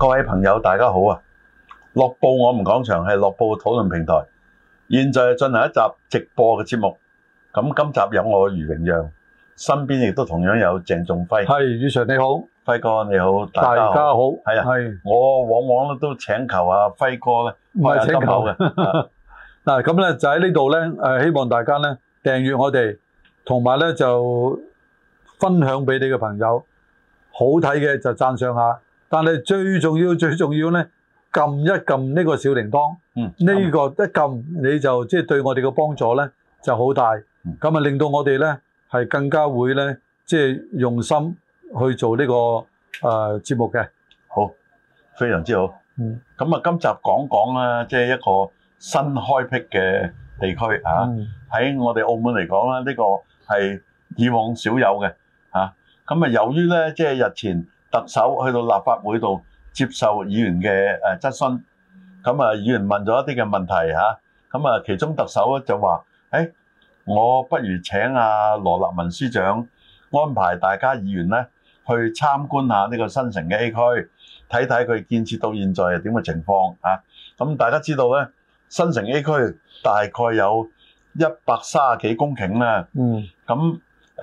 各位朋友，大家好啊！樂報我們講場係樂報討論平台，現在進行一集直播嘅節目。咁今集有我余榮讓，身邊亦都同樣有鄭仲輝。 係，余 Sir 你好， 輝哥你好， 大家好。 係啊，係我往往都請求阿輝哥咧， 唔係請求嘅。 嗱咁咧就喺呢度咧，希望大家咧訂閱我哋，同埋咧就分享俾你嘅朋友。好睇嘅就讚賞下，但係最重要咧，撳一撳呢個小鈴鐺。呢個一撳你就即係對我哋嘅幫助咧就好大。咁啊令到我哋咧係更加會咧即係用心去做呢個節目嘅。 好，非常之好。咁啊，今集講講啦，即係一個新開闢嘅地區啊。喺我哋澳門嚟講咧，呢個係以往少有嘅啊。咁啊，由於咧即係日前特首去到立法會度接受議員嘅質詢，咁啊議員問咗一啲嘅問題嚇，咁啊其中特首咧就話：我不如請阿羅立文司長安排大家議員咧去參觀下呢個新城嘅 A 區，睇睇佢建設到現在係點嘅情況啊。咁大家知道咧，新城 A 區大概有130幾公頃啦。咁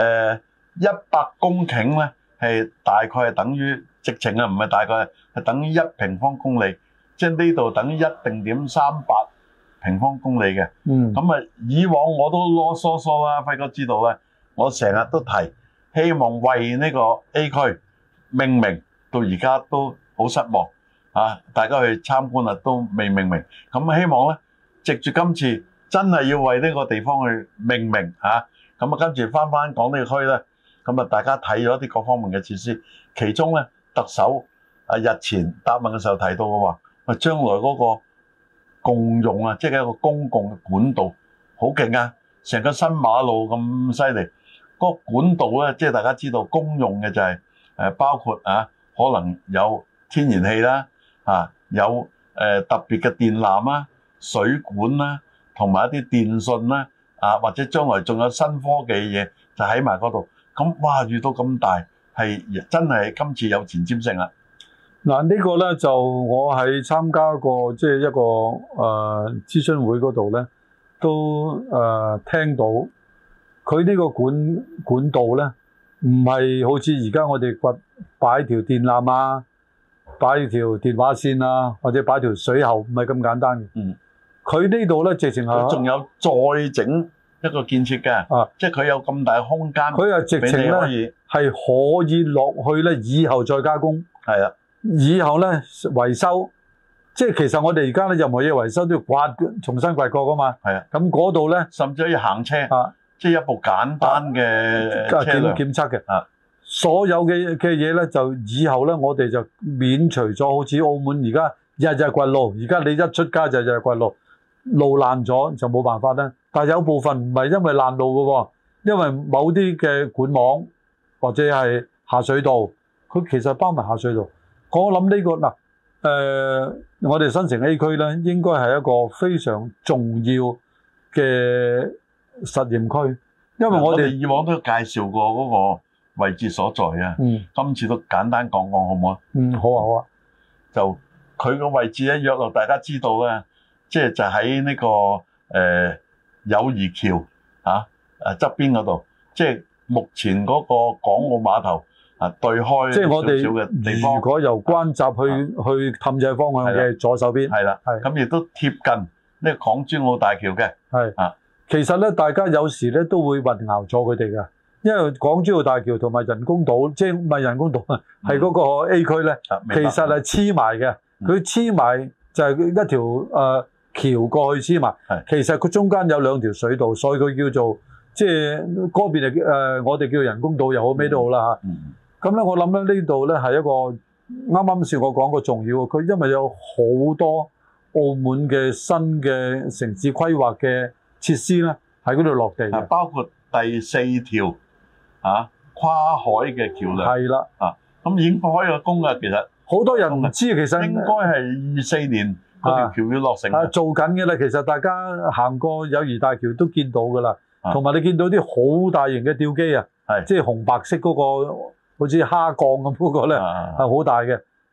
100公頃咧係大概係等於直情啊，唔係大概係等於1平方公里，即係呢度等於1.38平方公里嘅。咁啊，以往我都囉嗦嗦啦，輝哥知道咧，我成日都提希望為呢個 A 區命名，到而家都好失望啊！大家去參觀啊，都未命名。咁希望咧，藉住今次真係要為呢個地方去命名嚇。咁啊，跟住翻講呢個區咧。咁啊，大家睇咗啲各方面嘅設施，其中咧特首日前答問嘅時候提到嘅話，將來嗰個共用啊，即係一個公共嘅管道，好勁啊！成個新馬路咁犀利，嗰個管道咧，即係大家知道公用嘅就係包括可能有天然氣啦，有特別嘅電纜啦、水管啦，同埋一啲電訊啦，或者將來仲有新科技嘅嘢就喺埋嗰度。咁哇，遇到咁大係真係今次有前瞻性啦。 嗱，呢個咧就我喺參加過即係一個諮詢會嗰度咧，都聽到佢呢個管道咧，唔係好似而家我哋擺條電纜啊，擺條電話線啊，或者擺條水喉，唔係咁簡單嘅。佢呢度咧直情係仲有再整一個建設嘅，即係佢有咁大空間，佢係直情咧係可以落去咧，以後再加工。係啊，以後咧維修，即係其實我哋而家咧任何嘢維修都要重新掘過噶嘛。係啊，咁嗰度咧甚至可以行車，即係一部簡單嘅車輛檢測嘅。所有嘅嘢咧，就以後咧我哋就免除咗好似澳門而家日日掘路，而家你一出街就日日掘路，路爛咗就冇辦法啦。但係有部分唔係因為爛路嘅喎，因為某啲嘅管網或者係下水道，佢其實包埋下水道。我諗呢個我哋新城 A 區咧，應該係一個非常重要嘅實驗區，因為我哋以往都介紹過嗰個位置所在啊。今次都簡單講講好唔好啊？好啊好啊。就佢個位置咧，約落大家知道咧，即係就喺呢個友誼橋側邊嗰度，即係目前嗰個港澳碼頭對開少少嘅地方。如果由關閘去氹仔方向嘅左手邊，係啦，咁亦都貼近呢個港珠澳大橋嘅。其實咧，大家有時咧都會混淆咗佢哋嘅，因為港珠澳大橋同埋人工島，即係唔係人工島啊，係嗰個 A 區咧，其實係黐埋嘅。佢黐埋就係一條橋過去黐埋，其實佢中間有兩條水道，所以佢叫做即係嗰邊我哋叫人工島又好咩都好啦嚇。咁咧我諗咧呢度咧係一個啱啱先我講過重要嘅，佢因為有好多澳門嘅新嘅城市規劃嘅設施咧喺嗰度落地嘅，包括第4條跨海嘅橋梁。係啦，咁已經開咗工啦，其實好多人唔知，其實應該係24年。嗰條橋要落成做緊嘅啦。其實大家行過友誼大橋都見到㗎啦，同埋你見到啲好大型嘅吊機啊，即係紅白色嗰個好似蝦鋼咁嗰個咧係好大嘅。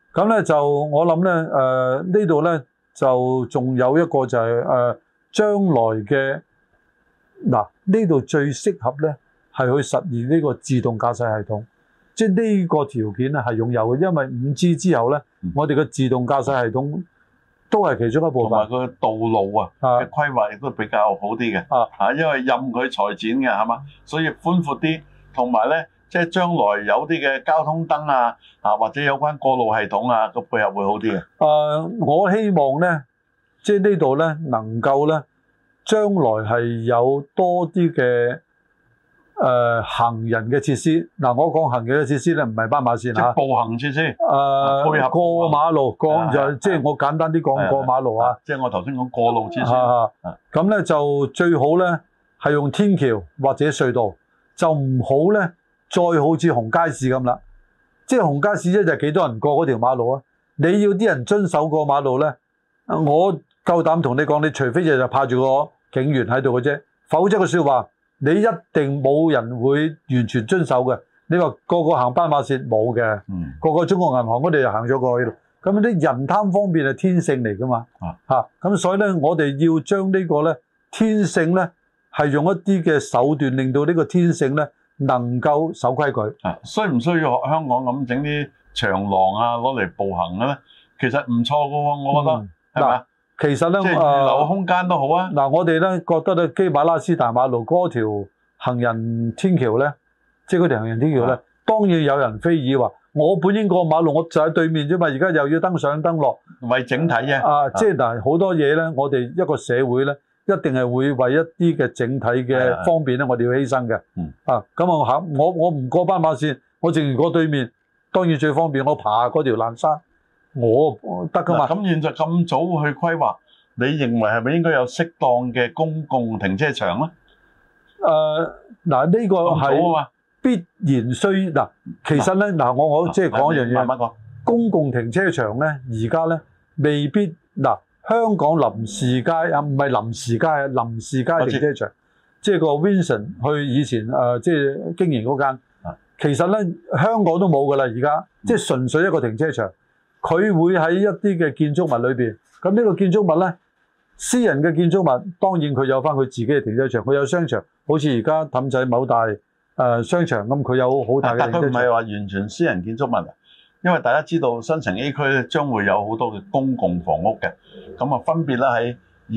咁咧就我諗咧呢度咧就仲有一個就係將來嘅呢度最適合咧係去實現呢個自動駕駛系統，即係呢個條件咧係擁有嘅，因為 5G 之後咧，我哋嘅自動駕駛系統都係其中一部分， 同埋個道路嘅規劃亦都比較好啲嘅，因為任佢裁剪嘅係嘛，所以寬闊啲，同埋咧即係將來有啲嘅交通燈或者有關過路系統個配合會好啲嘅。 我希望咧，即係呢度咧能夠咧，將來係有多啲嘅行人嘅設施。我講行人嘅設施咧，唔係斑馬線即係步行設施。配合過馬路即係我簡單啲講過馬路即係我頭先講過路設施。 咁咧就最好咧係用天橋或者隧道，就唔好咧再好似紅街市咁啦。即係紅街市一日幾多人過嗰條馬路啊？你要啲人遵守過馬路咧，我夠膽同你講，你除非日日派住個警員喺度嘅啫，否則嘅說話你一定冇人會完全遵守嘅。你話個個行斑馬線冇嘅，個個中國銀行我哋就行咗過去。咁啲人貪方便係天性嚟噶嘛？咁所以咧，我哋要將呢個咧天性咧係用一啲嘅手段，令到呢個天性咧能夠守規矩。 需唔需要學香港咁整啲長廊攞嚟步行嘅咧？其實唔錯嘅喎，我覺得係咪？ 其實咧， 即係預留空間都好啊。 我哋咧覺得咧，基馬拉斯大馬路嗰條行人天橋咧，即係嗰條行人天橋咧，當然有人非議話，我本應過馬路，我就喺對面啫嘛，而家又要登上登落， 為整體啫。 即係好多嘢咧，我哋一個社會咧，一定係會為一啲嘅整體嘅方便咧，我哋要犧牲嘅。咁我唔過斑馬線，我淨係過對面，當然最方便，我爬嗰條爛山。我得噶嘛？ 咁現在咁早去規劃，你認為係咪應該有適當嘅公共停車場咧？ 呢個係必然需其實咧我即係講一樣嘢， 慢慢講。 公共停車場咧，而家咧未必香港臨時街唔係臨時街臨時街停車場，即係個 Vincent 去以前即係經營嗰間，其實咧香港都冇噶啦，而家即係純粹一個停車場。佢會喺一啲嘅建築物裏邊，咁呢個建築物咧，私人嘅建築物當然佢有翻佢自己嘅停車場，佢有商場，好似而家氹仔某大商場咁，佢有好大嘅停車場。但佢唔係話完全私人建築物，因為大家知道新城 A 區咧將會有好多嘅公共房屋嘅，咁啊分別咧喺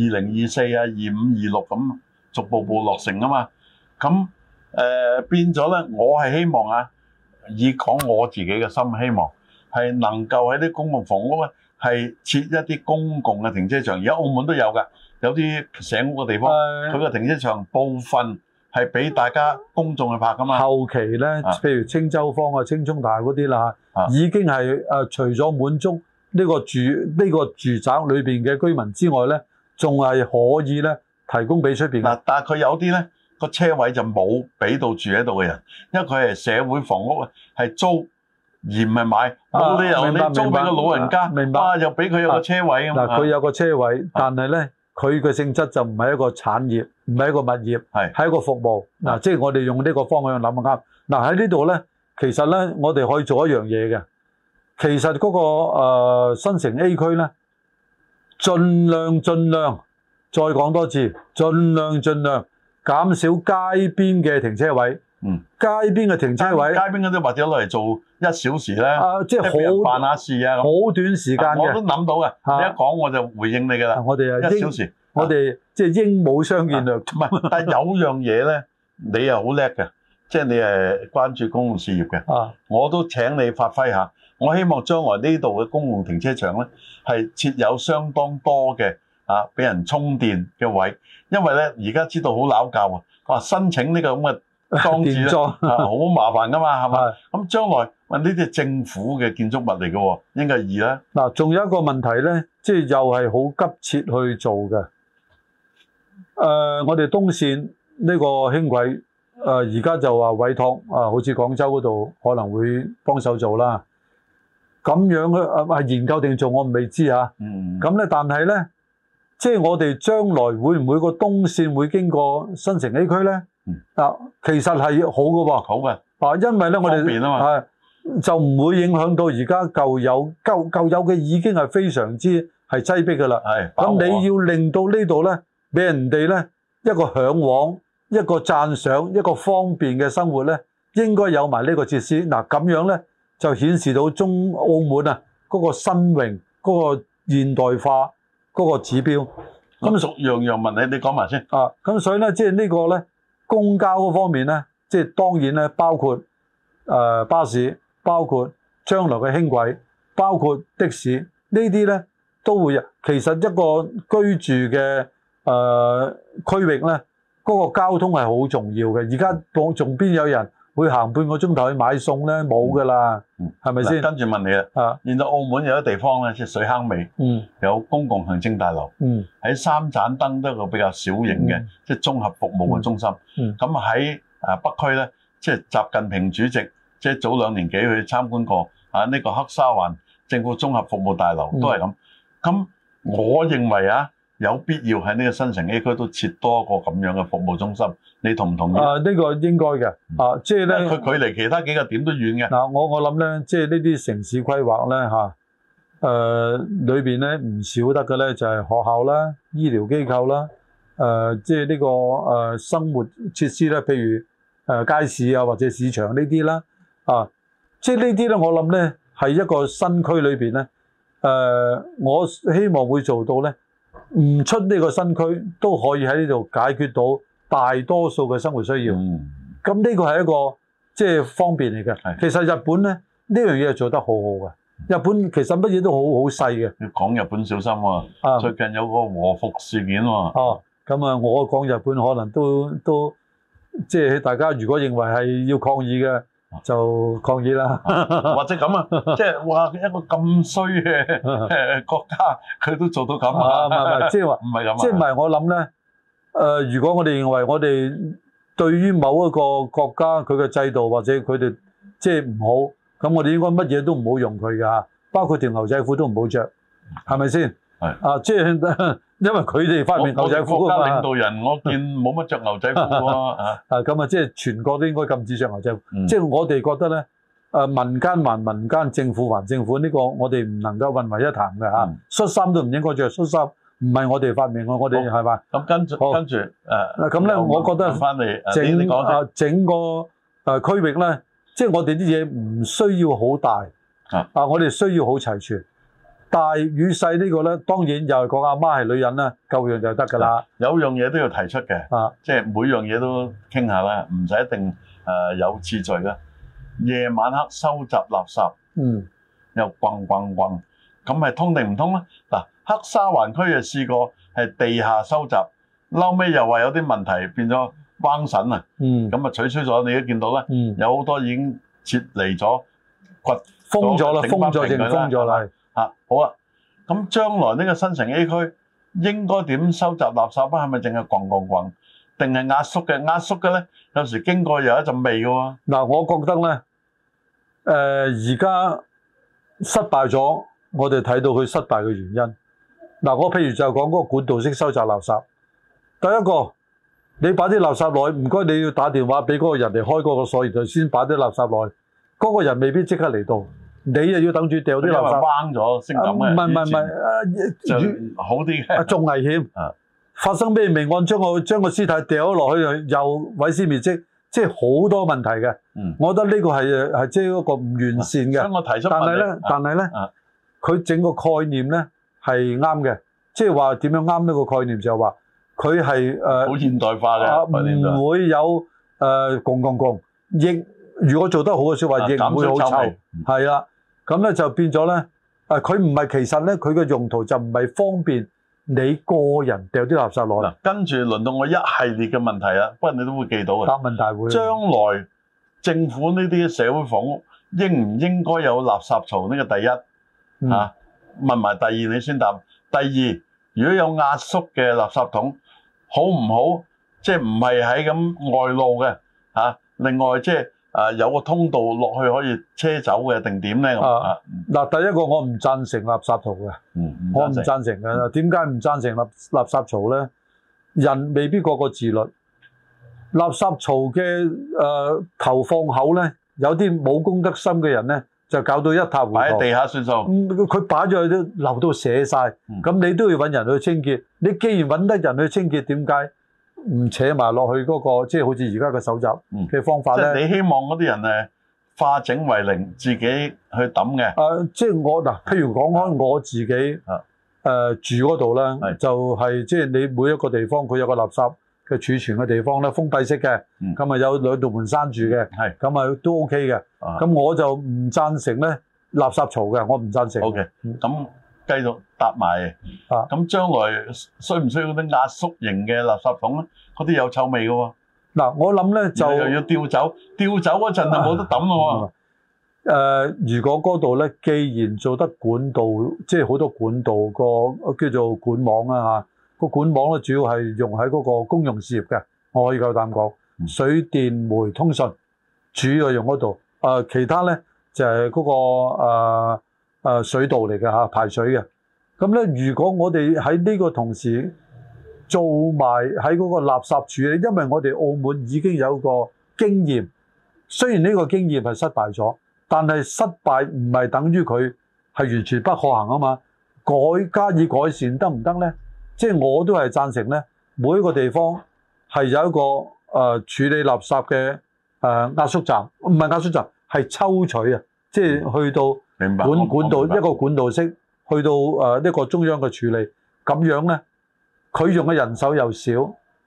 2024、25、26咁逐步落成啊嘛，咁變咗咧，我係希望以講我自己嘅心希望。係能夠喺啲公共房屋咧，係設一啲公共嘅停車場。而家澳門都有㗎，有啲社屋嘅地方，佢個停車場部分係俾大家公眾去泊㗎嘛。後期咧，譬如青洲坊青涌大嗰啲啦，已經係除咗滿足呢個住宅裏邊嘅居民之外咧，仲係可以咧提供俾出邊。但係佢有啲咧個車位就冇俾到住喺度嘅人，因為佢係社會房屋係租。而唔係買，冇理由你租俾個老人家，又俾佢有個車位咁。佢有個車位，但係咧，佢嘅性質就唔係一個產業，唔係一個物業，係一個服務。即係我哋用呢個方向諗啱。喺呢度咧，其實咧，我哋可以做一樣嘢嘅。其實嗰個新城 A 區咧，盡量，再講多次，盡量減少街邊嘅停車位。街邊嘅停車位，街邊嗰啲或者攞嚟做1小時咧，即係好辦下事好短時間嘅。我都諗到嘅，你一講我就回應你㗎啦。我哋1小時，我哋即係鸚鵡相見略。唔係，但係有樣嘢咧，你又好叻嘅，即係你係關注公共事業嘅。我都請你發揮下。我希望將來呢度嘅公共停車場咧，係設有相當多嘅俾人充電嘅位，因為咧而家知道好拗教啊，話申請呢個咁嘅裝置好麻煩噶嘛，係嘛？咁將來呢啲係政府嘅建築物嚟嘅喎，應該易啦。仲有一個問題咧，即係又係好急切去做嘅。我哋東線呢個輕軌，而家就話委託好似廣州嗰度可能會幫手做啦。咁樣係研究定做，我未知嚇。咁咧，但係咧，即係我哋將來會唔會個東線會經過新城 A 區咧？其實係好嘅喎，好嘅。因為咧我哋就唔會影響到而家舊有嘅已經係非常之係擠迫㗎啦。咁你要令到呢度咧，俾人哋咧一個嚮往、一個讚賞、一個方便嘅生活咧，應該有埋呢個設施。嗱咁樣咧就顯示到澳門啊嗰個新穎、嗰個現代化嗰個指標。咁樣問你講埋先。 咁所以咧，即係呢個咧公交嗰方面咧，即係當然咧包括巴士。包括將來嘅輕軌，包括的士，呢啲咧都會。其實一個居住嘅區域咧，嗰個交通係好重要嘅。而家仲邊有人會行半個鐘頭去買餸咧？冇㗎啦，係咪先？ 跟住問你啦。現在澳門有啲地方咧，即係水坑尾，有公共行政大樓，喺三盞燈都有個比較小型嘅，即係綜合服務嘅中心。咁喺北區咧，即係習近平主席。即係早2年幾去參觀過呢個黑沙環政府綜合服務大樓都係咁。咁我認為有必要喺呢個新城 A 區都設多一個咁樣嘅服務中心，你同唔同意？呢個應該嘅。即係咧，佢距離其他幾個點都遠嘅。我諗咧，即係呢啲城市規劃咧裏邊咧唔少得嘅咧就係學校啦、醫療機構啦，即係呢個生活設施咧，譬如街市啊或者市場呢啲啦。即係呢啲咧，我諗咧係一個新區裏邊咧，我希望會做到咧，唔出呢個新區都可以喺呢度解決到大多數嘅生活需要。咁呢個係一個即係方便嚟嘅。其實日本咧呢樣嘢係做得好好嘅。日本其實乜嘢都好細嘅。要講日本小心喎，最近有個和服事件喎。咁我講日本可能都即係大家如果認為係要抗議嘅。就抗議啦，或者咁即係哇一個咁衰嘅國家，佢都做到咁唔係即係話唔係咁即係唔係我諗咧如果我哋認為我哋對於某一個國家佢嘅制度或者佢哋即係唔好，咁我哋應該乜嘢都唔好用佢㗎，包括條牛仔褲都唔好着，係咪先？即係。因為佢哋發明牛仔褲啊嘛，國家領導人我見冇乜着牛仔褲喎咁即係全國都應該禁止着牛仔褲。即係我哋覺得咧，民間還民間，政府還政府，呢個我哋唔能夠混為一談嘅恤衫都唔應該着恤衫，唔係我哋發明嘅，我哋係嘛？咁跟住咁咧，我覺得翻嚟整個區域咧，即係我哋啲嘢唔需要好大我哋需要好齊全。大與細呢個咧，當然又係講阿媽係女人啦，夠樣就得㗎啦。有樣嘢都要提出嘅，即係每樣嘢都傾下啦，唔使一定有次序嘅。夜晚黑收集垃圾，又滾，咁係通定唔通咧？嗱，黑沙環區就試過係地下收集，後尾又話有啲問題變咗灣神啊，咁啊取消咗。你都見到咧，有好多已經撤離咗，封咗啦。好啊！咁將來呢個新城 A 區應該點收集垃圾啊？係咪淨係滾，定係壓縮嘅？壓縮嘅咧，有時經過有一陣味嘅喎。嗱，我覺得咧，而家失敗咗，我哋睇到佢失敗嘅原因。嗱，我譬如就講嗰個管道式收集垃圾。第一個，你擺啲垃圾落去，唔該你要打電話俾嗰個人嚟開嗰個鎖，然後先擺啲垃圾落去。嗰個人未必即刻嚟到。你又要等住掉啲垃圾，彎咗先咁嘅。唔係，好啲嘅，仲危險。發生咩命案？將個屍體掉咗落去，又毀屍滅跡，即係好多問題嘅。我覺得呢個係即係一個唔完善嘅。所以我提出但係咧，佢整個概念咧係啱嘅，即係話點樣啱呢個概念就係話佢係好現代化嘅，唔會有共，亦如果做得好嘅説話，亦唔會好臭，係啦。咁咧就變咗咧，佢唔係其實咧，佢嘅用途就唔係方便你個人掉啲垃圾落嚟。跟住輪到我一系列嘅問題啦，不過你都會記到嘅。答問大會。將來政府呢啲社會房屋應唔應該有垃圾槽？呢個第一問埋第二你先答。第二，如果有壓縮嘅垃圾桶，好唔好？即係唔係喺咁外露嘅另外即係。有個通道落去可以車走嘅定點咧？嗱，第一個我唔贊成垃圾槽嘅，我唔贊成嘅。點解唔贊成垃圾槽咧？人未必個個自律，垃圾槽嘅投放口咧， 有啲冇公德心嘅人咧，就搞到一塌糊塗。 擺喺地下算數。 佢擺咗去都流到瀉晒，咁你都要揾人去清潔。你既然揾得人去清潔，點解唔扯埋落去嗰個即係好似而家嘅搜集嘅方法咧？ 即係你希望嗰啲人化整為零，自己去抌嘅。 即係我嗱，譬如講開我自己住嗰度咧，就係即係你每一個地方佢有個垃圾嘅儲存嘅地方咧，封閉式嘅，咁有2道門閂住嘅，咁都 OK 嘅。咁我就唔贊成咧垃圾槽嘅，我唔贊成。 OK，咁繼續答埋。咁將來需唔需要啲壓縮型嘅垃圾桶咧？嗰啲有臭味嘅喎。嗱， 我諗咧就又要吊走嗰陣就冇得抌咯喎。 如果嗰度咧，既然做得管道，即係好多管道個叫做管網啊個管網咧主要係用喺嗰個公用事業嘅，我可以夠膽講。水電煤通訊主要用嗰度，其他咧就係嗰個水道嚟嘅排水嘅。咁咧，如果我哋喺呢個同時做埋喺嗰個垃圾處理，因為我哋澳門已經有個經驗，雖然呢個經驗係失敗咗，但係失敗唔係等於佢係完全不可行啊嘛。加以改善得唔得咧？即係我都係贊成咧，每一個地方係有一個處理垃圾嘅壓縮站，唔係壓縮站，係抽取啊，即係去到管道一個管道式，去到一個中央嘅處理，咁樣咧，佢用嘅人手又少，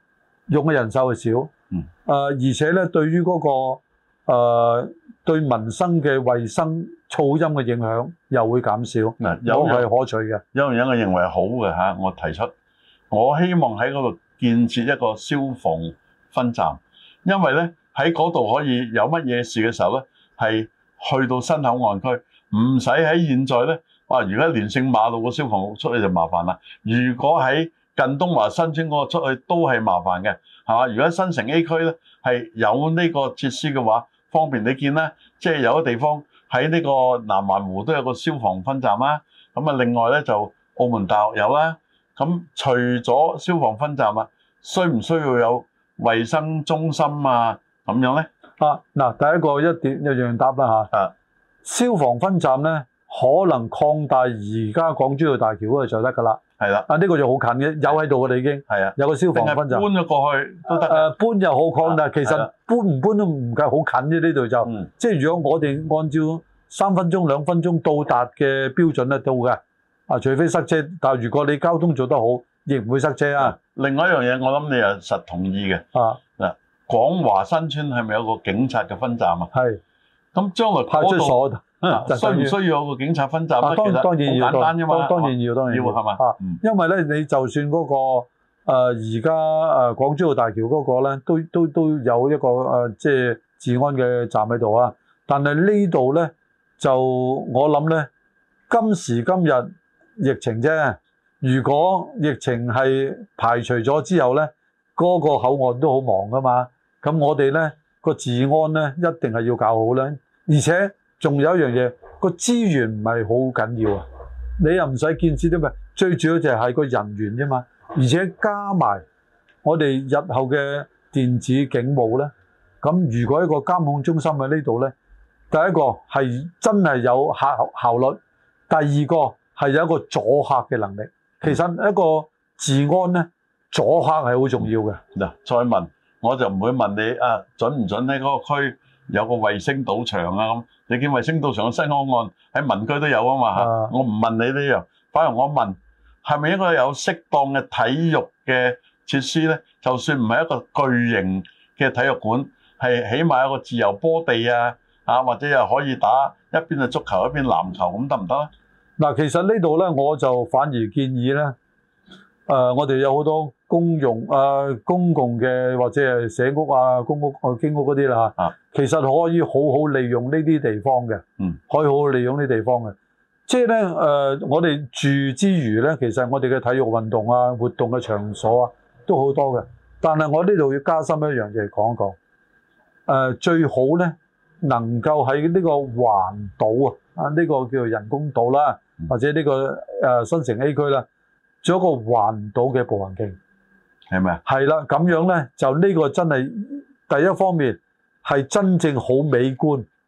而且咧對於嗰個對民生嘅衞生噪音嘅影響又會減少，都係可取嘅。 有樣嘢我認為好嘅嚇，我提出，我希望喺嗰度建設一個消防分站，因為咧喺嗰度可以有乜嘢事嘅時候咧，係去到新口岸區，唔使喺現在咧話，如果連勝馬路個消防局出去就麻煩啦。如果喺近東華新村嗰個出去都係麻煩嘅，係嘛？如果喺新城 A 區咧係有呢個設施嘅話，方便你見啦，即係有個地方喺呢個南環湖都有個消防分站啦。咁啊，另外咧就澳門大學有啦。咁除咗消防分站啊，需唔需要有衛生中心啊？咁樣咧？ 嗱，第一個一樣答啦嚇。消防分站咧，可能擴大而家港珠澳大橋嗰度就得㗎啦。係啦。呢個就好近嘅，有喺度嘅啦已經。係啊。有個消防分站。搬咗過去都得。搬又好擴大，其實搬唔搬都唔夠好近啫。呢度就，即係如果我哋按照3分鐘、2分鐘到達嘅標準咧，到嘅。除非塞車，但係如果你交通做得好，亦唔會塞車啊。另外一樣嘢，我諗你又實同意嘅。嗱，廣華新村係咪有個警察嘅分站啊？係。咁將來派出所需唔需要有個警察分站咧？其實好簡單啫嘛。當然要係嘛。因為咧，你就算嗰個而家港珠澳大橋嗰個咧，都有一個即係治安嘅站喺度啊。但係呢度咧，就我諗咧，今時今日。疫情啫，如果疫情係排除咗之後咧，嗰個口岸都好忙噶嘛。咁我哋咧個治安咧一定係要搞好咧，而且仲有一樣嘢，個資源唔係好緊要啊。你又唔使建設啲咩，最主要就係個人員啫嘛。而且加埋我哋日後嘅電子警務咧，咁如果一個監控中心喺呢度咧，第一個係真係有效率，第二個係有一個阻嚇嘅能力。其實一個治安咧，阻嚇係好重要嘅。嗱，再問我就唔會問你準唔準喺嗰個區有個衛星賭場啊咁。你見衛星賭場嘅新口岸喺民居都有啊嘛嚇。我唔問你呢樣，反而我問係咪應該有適當嘅體育嘅設施咧？就算唔係一個巨型嘅體育館，係起碼有個自由波地啊，或者又可以打一邊係足球一邊籃球咁得唔得咧？嗱，其實呢度咧，我就反而建議咧，我哋有好多公共嘅或者係社屋啊、公屋、經屋嗰啲啦嚇，其實可以好好利用呢啲地方嘅，可以好好利用呢啲地方嘅。即係咧，我哋住之餘咧，其實我哋嘅體育運動啊、活動嘅場所啊，都好多嘅。但係我呢度要加深一樣嘢講一講，最好咧能夠喺呢個環島呢個叫做人工島啦。或者呢個新城 A 區啦，做一個環島嘅步行徑，係咪啊？係啦，咁樣咧就呢個真係第一方面係真正好美觀，第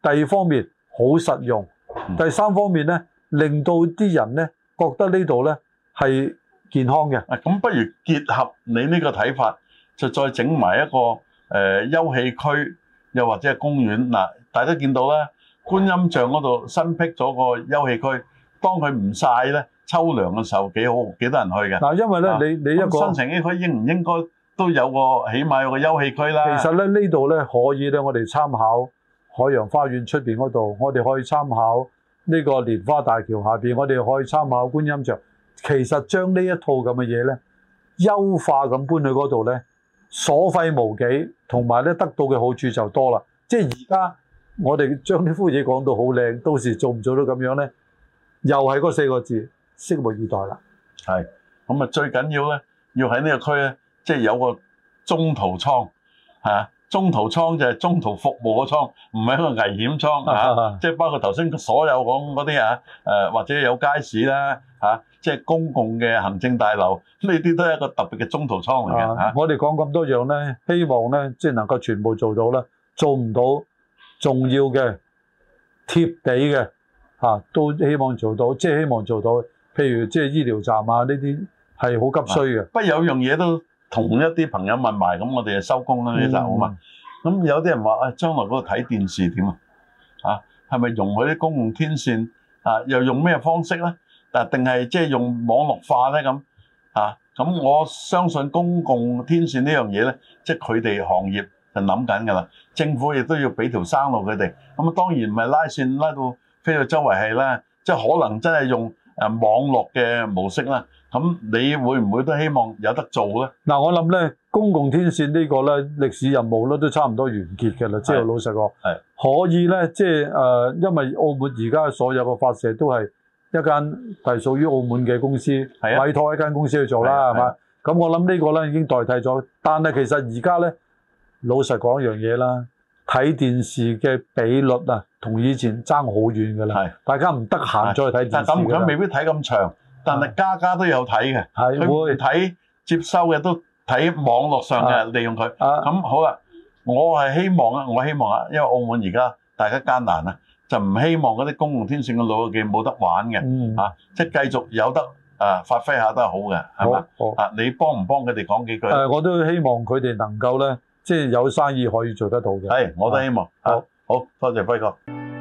第二方面好實用，第三方面咧令到啲人咧覺得呢度咧係健康嘅。 咁不如結合你呢個睇法，就再整埋一個休憩區，又或者係公園嗱。大家見到咧，觀音像嗰度新闢咗個休憩區，當佢唔曬咧，秋涼嘅時候幾好，幾多人去嘅。 嗱，因為咧你一個新城 A 區應唔應該都有個起碼有個休憩區啦？ 其實咧呢度咧可以咧，我哋參考海洋花園出邊嗰度，我哋可以參考呢個蓮花大橋下邊，我哋可以參考觀音像。其實將呢一套咁嘅嘢咧，優化咁搬去嗰度咧，所費無幾，同埋咧得到嘅好處就多啦。即係而家我哋將呢幅嘢講到好靚，到時做唔做到咁樣咧，又係嗰4個字，拭目以待啦。 係咁啊，最緊要咧，要喺呢個區咧，即係有個中途倉嚇。中途倉就係中途服務嘅倉，唔係一個危險倉嚇。即係包括頭先所有講嗰啲或者有街市啦嚇，即係公共嘅行政大樓，呢啲都係一個特別嘅中途倉嚟嘅嚇。 我哋講咁多樣咧，希望咧即係能夠全部做到啦。做唔到重要嘅貼地嘅都希望做到，即係希望做到。譬如即係醫療站啊，呢啲係好急需嘅。 不過有樣嘢都同一啲朋友問埋，咁我哋就收工啦呢集好嘛？咁有啲人話將來嗰個睇電視點啊？係咪容許啲公共天線又用咩方式咧？定係即係用網絡化咧咁咁我相信公共天線呢樣嘢咧，即係佢哋行業就諗緊㗎啦。政府亦都要俾條生路佢哋。咁當然唔係拉線拉到飛到周圍係啦，即係可能真係用網絡嘅模式啦。咁你會唔會都希望有得做咧？嗱， 我諗咧公共天線呢個咧歷史任務咧都差唔多完結嘅啦。即係老實講，可以咧，即係因為澳門而家所有嘅發射都係一間係屬於澳門嘅公司委託一間公司去做啦，係嘛？咁我諗呢個咧已經代替咗。但係其實而家咧，老實講一樣嘢啦，睇電視嘅比率同以前爭好遠㗎啦。大家唔得閒再睇電視。但咁佢未必睇咁長。但係家都有睇嘅，佢會睇接收嘅都睇網絡上嘅利用佢。咁好啦，我希望因為澳門而家大家艱難就唔希望嗰啲公共天線嘅老友記冇得玩嘅，即係繼續有得發揮下都係好嘅，係嘛？你幫唔幫佢哋講幾句？ 我都希望佢哋能夠咧，即係有生意可以做得到嘅。 係，我都希望。好多謝輝哥。